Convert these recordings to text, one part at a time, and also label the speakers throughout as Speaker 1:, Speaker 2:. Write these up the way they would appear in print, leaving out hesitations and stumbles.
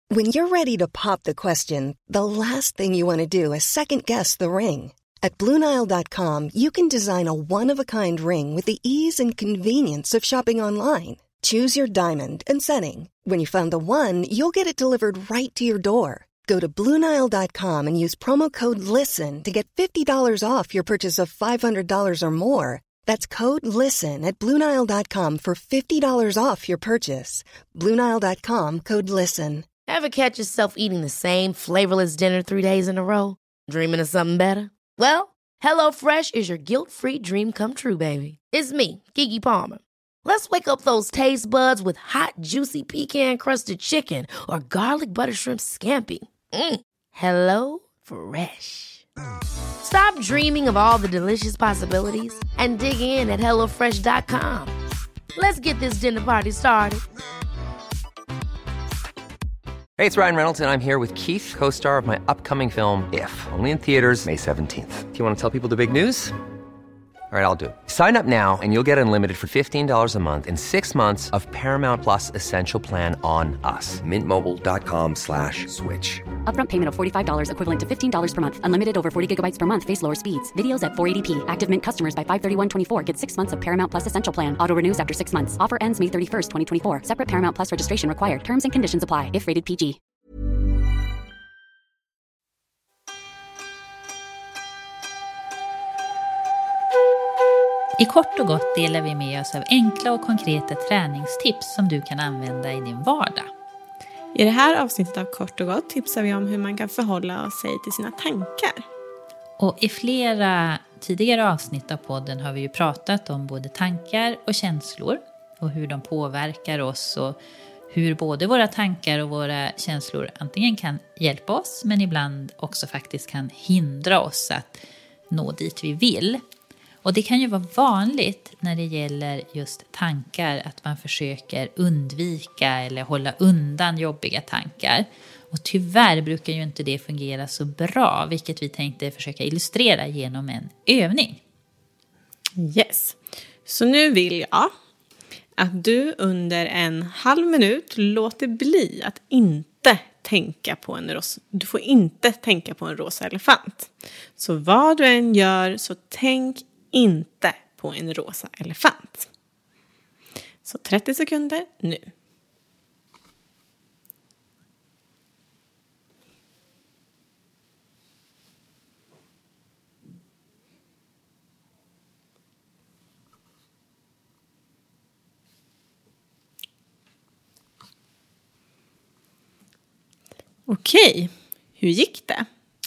Speaker 1: When you're ready to pop the question, the last thing you want to do is second-guess the ring. At BlueNile.com, you can design a one-of-a-kind ring with the ease and convenience of shopping online. Choose your diamond and setting. When you find the one, you'll get it delivered right to your door. Go to BlueNile.com and use promo code LISTEN to get $50 off your purchase of $500 or more. That's code LISTEN at BlueNile.com for $50 off your purchase. BlueNile.com, code LISTEN.
Speaker 2: Ever catch yourself eating the same flavorless dinner 3 days in a row? Dreaming of something better? Well, HelloFresh is your guilt-free dream come true, baby. It's me, Keke Palmer. Let's wake up those taste buds with hot, juicy pecan-crusted chicken or garlic butter shrimp scampi. Hello Fresh. Stop dreaming of all the delicious possibilities and dig in at HelloFresh.com. Let's get this dinner party started.
Speaker 3: Hey, it's Ryan Reynolds, and I'm here with Keith, co-star of my upcoming film, If, only in theaters May 17th. Do you want to tell people the big news? All right, I'll do it. Sign up now and you'll get unlimited for $15 a month and 6 months of Paramount Plus Essential Plan on us. MintMobile.com/switch.
Speaker 4: Upfront payment of $45 equivalent to $15 per month. Unlimited over 40 gigabytes per month. Face lower speeds. Videos at 480p. Active Mint customers by 531.24 get 6 months of Paramount Plus Essential Plan. Auto renews after 6 months. Offer ends May 31st, 2024. Separate Paramount Plus registration required. Terms and conditions apply if rated PG.
Speaker 5: I kort och gott delar vi med oss av enkla och konkreta träningstips som du kan använda i din vardag.
Speaker 6: I det här avsnittet av Kort och gott tipsar vi om hur man kan förhålla sig till sina tankar.
Speaker 5: Och i flera tidigare avsnitt av podden har vi ju pratat om både tankar och känslor och hur de påverkar oss och hur både våra tankar och våra känslor antingen kan hjälpa oss men ibland också faktiskt kan hindra oss att nå dit vi vill. Och det kan ju vara vanligt när det gäller just tankar att man försöker undvika eller hålla undan jobbiga tankar. Och tyvärr brukar ju inte det fungera så bra, vilket vi tänkte försöka illustrera genom en övning.
Speaker 6: Yes, så nu vill jag att du under en halv minut låter bli att inte tänka på en rosa. Du får inte tänka på en rosa elefant. Så vad du än gör så tänk inte på en rosa elefant. Så 30 sekunder nu. Okej, hur gick det?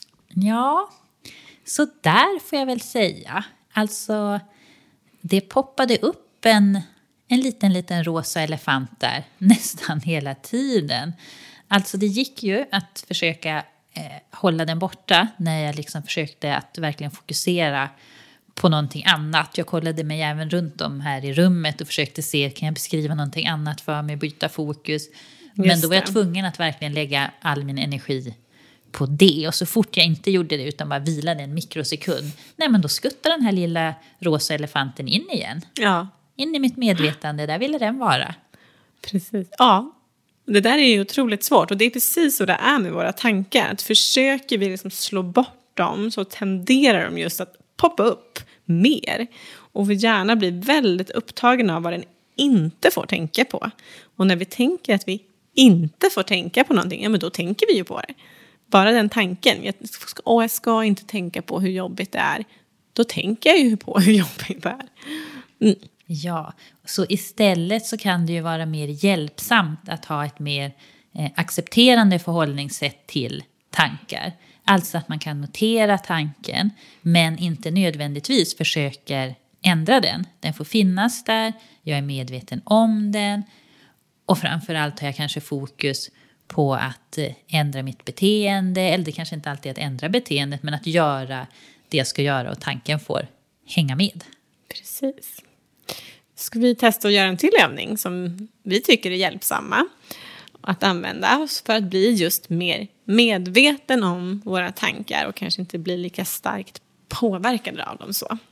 Speaker 5: Ja, så där får jag väl säga. Alltså, det poppade upp en liten rosa elefant där nästan hela tiden. Alltså det gick ju att försöka hålla den borta när jag liksom försökte att verkligen fokusera på någonting annat. Jag kollade mig även runt om här i rummet och försökte se, kan jag beskriva någonting annat för mig, byta fokus. Men då var jag tvungen att verkligen lägga all min energi på det. Och så fort jag inte gjorde det utan bara vilade en mikrosekund, nej men då skuttade den här lilla rosa elefanten in igen. Ja. In i mitt medvetande, där ville den vara.
Speaker 6: Precis, ja. Det där är ju otroligt svårt och det är precis så det är med våra tankar. Att försöker vi liksom slå bort dem så tenderar de just att poppa upp mer. Och vi gärna blir väldigt upptagna av vad den inte får tänka på. Och när vi tänker att vi inte får tänka på någonting, ja men då tänker vi ju på det. Bara den tanken, jag ska inte tänka på hur jobbigt det är. Då tänker jag ju på hur jobbigt det är. Mm.
Speaker 5: Ja, så istället så kan det ju vara mer hjälpsamt att ha ett mer accepterande förhållningssätt till tankar. Alltså att man kan notera tanken men inte nödvändigtvis försöker ändra den. Den får finnas där, jag är medveten om den och framförallt har jag kanske fokus på att ändra mitt beteende, eller det kanske inte alltid är att ändra beteendet men att göra det jag ska göra och tanken får hänga med.
Speaker 6: Precis. Ska vi testa att göra en till övning som vi tycker är hjälpsamma att använda för att bli just mer medveten om våra tankar och kanske inte bli lika starkt påverkade av dem så.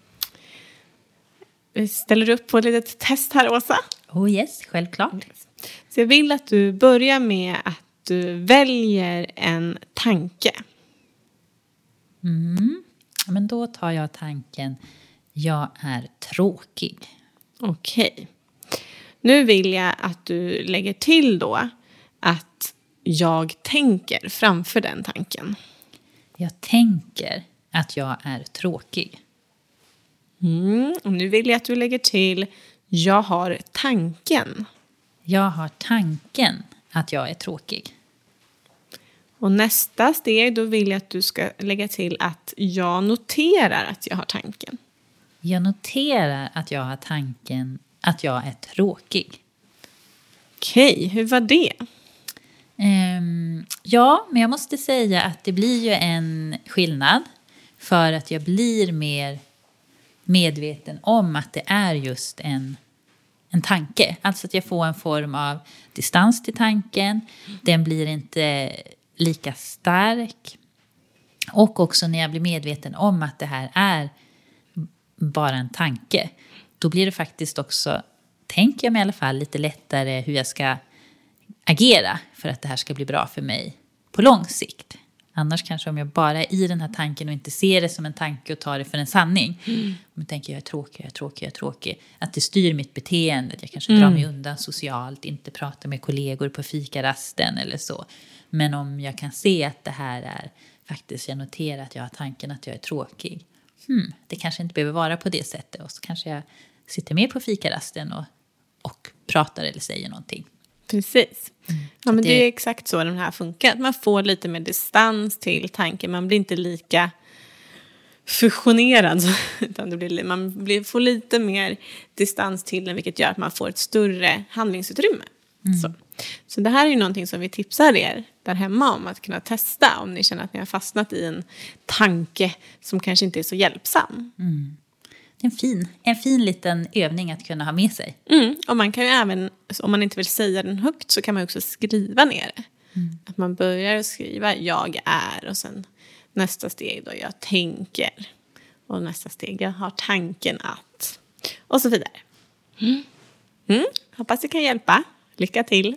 Speaker 6: Vi ställer upp på ett litet test här, Åsa.
Speaker 5: Oh yes, självklart.
Speaker 6: Så jag vill att du börjar med att du väljer en tanke.
Speaker 5: Men då tar jag tanken, jag är tråkig.
Speaker 6: Okej. Nu vill jag att du lägger till då att jag tänker framför den tanken.
Speaker 5: Jag tänker att jag är tråkig.
Speaker 6: Och nu vill jag att du lägger till, jag har tanken.
Speaker 5: Jag har tanken att jag är tråkig.
Speaker 6: Och nästa steg, då vill jag att du ska lägga till att jag noterar att jag har tanken.
Speaker 5: Jag noterar att jag har tanken att jag är tråkig.
Speaker 6: Okej, hur var det?
Speaker 5: Ja, men jag måste säga att det blir ju en skillnad. För att jag blir mer medveten om att det är just en tanke. Alltså att jag får en form av distans till tanken. Den blir inte lika stark. Och också när jag blir medveten om att det här är bara en tanke. Då blir det faktiskt också, tänker jag mig i alla fall, lite lättare hur jag ska agera för att det här ska bli bra för mig på lång sikt. Annars kanske om jag bara är i den här tanken och inte ser det som en tanke och tar det för en sanning. Om jag tänker jag är tråkig. Att det styr mitt beteende. Jag kanske drar mig undan socialt. Inte pratar med kollegor på fikarasten eller så. Men om jag kan se att det här är faktiskt, jag noterar att jag har tanken att jag är tråkig. Det kanske inte behöver vara på det sättet. Och så kanske jag sitter med på fikarasten och pratar eller säger någonting.
Speaker 6: Precis. Ja, men det är exakt så den här funkar. Man får lite mer distans till tanken. Man blir inte lika fusionerad. Utan man får lite mer distans till den. Vilket gör att man får ett större handlingsutrymme. Så det här är ju någonting som vi tipsar er där hemma om att kunna testa. Om ni känner att ni har fastnat i en tanke som kanske inte är så hjälpsam.
Speaker 5: En fin liten övning att kunna ha med sig.
Speaker 6: Och man kan ju även, om man inte vill säga den högt, så kan man också skriva ner det. Att man börjar skriva jag är och sen nästa steg då jag tänker. Och nästa steg jag har tanken att. Och så vidare. Hoppas det kan hjälpa. Lycka till!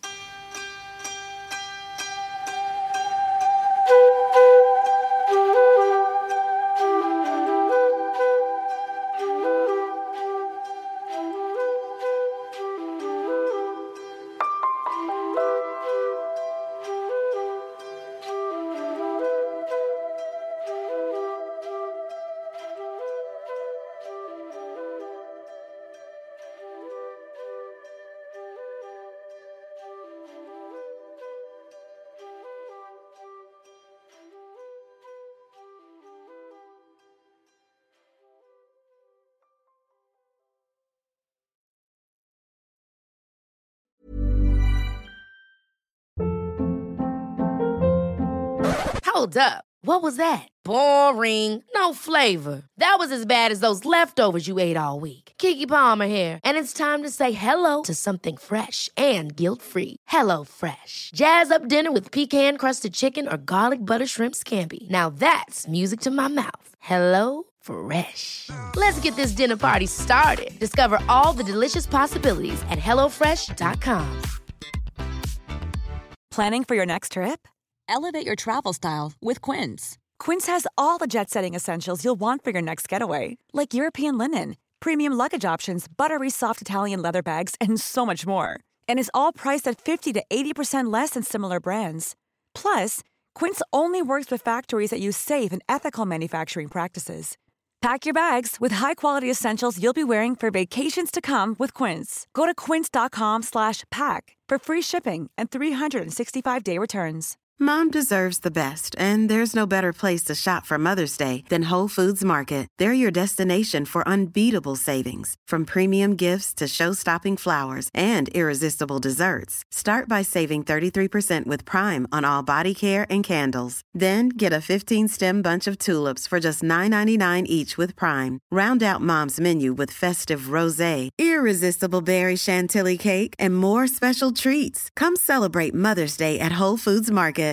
Speaker 2: Hold up. What was that? Boring. No flavor. That was as bad as those leftovers you ate all week. Keke Palmer here, and it's time to say hello to something fresh and guilt-free. Hello Fresh. Jazz up dinner with pecan-crusted chicken or garlic butter shrimp scampi. Now that's music to my mouth. Hello Fresh. Let's get this dinner party started. Discover all the delicious possibilities at hellofresh.com.
Speaker 7: Planning for your next trip? Elevate your travel style with Quince. Quince has all the jet-setting essentials you'll want for your next getaway, like European linen, premium luggage options, buttery soft Italian leather bags, and so much more. And is all priced at 50 to 80% less than similar brands. Plus, Quince only works with factories that use safe and ethical manufacturing practices. Pack your bags with high-quality essentials you'll be wearing for vacations to come with Quince. Go to quince.com/pack for free shipping and 365-day returns.
Speaker 8: Mom deserves the best, and there's no better place to shop for Mother's Day than Whole Foods Market. They're your destination for unbeatable savings, from premium gifts to show-stopping flowers and irresistible desserts. Start by saving 33% with Prime on all body care and candles. Then get a 15-stem bunch of tulips for just $9.99 each with Prime. Round out Mom's menu with festive rosé, irresistible berry chantilly cake, and more special treats. Come celebrate Mother's Day at Whole Foods Market.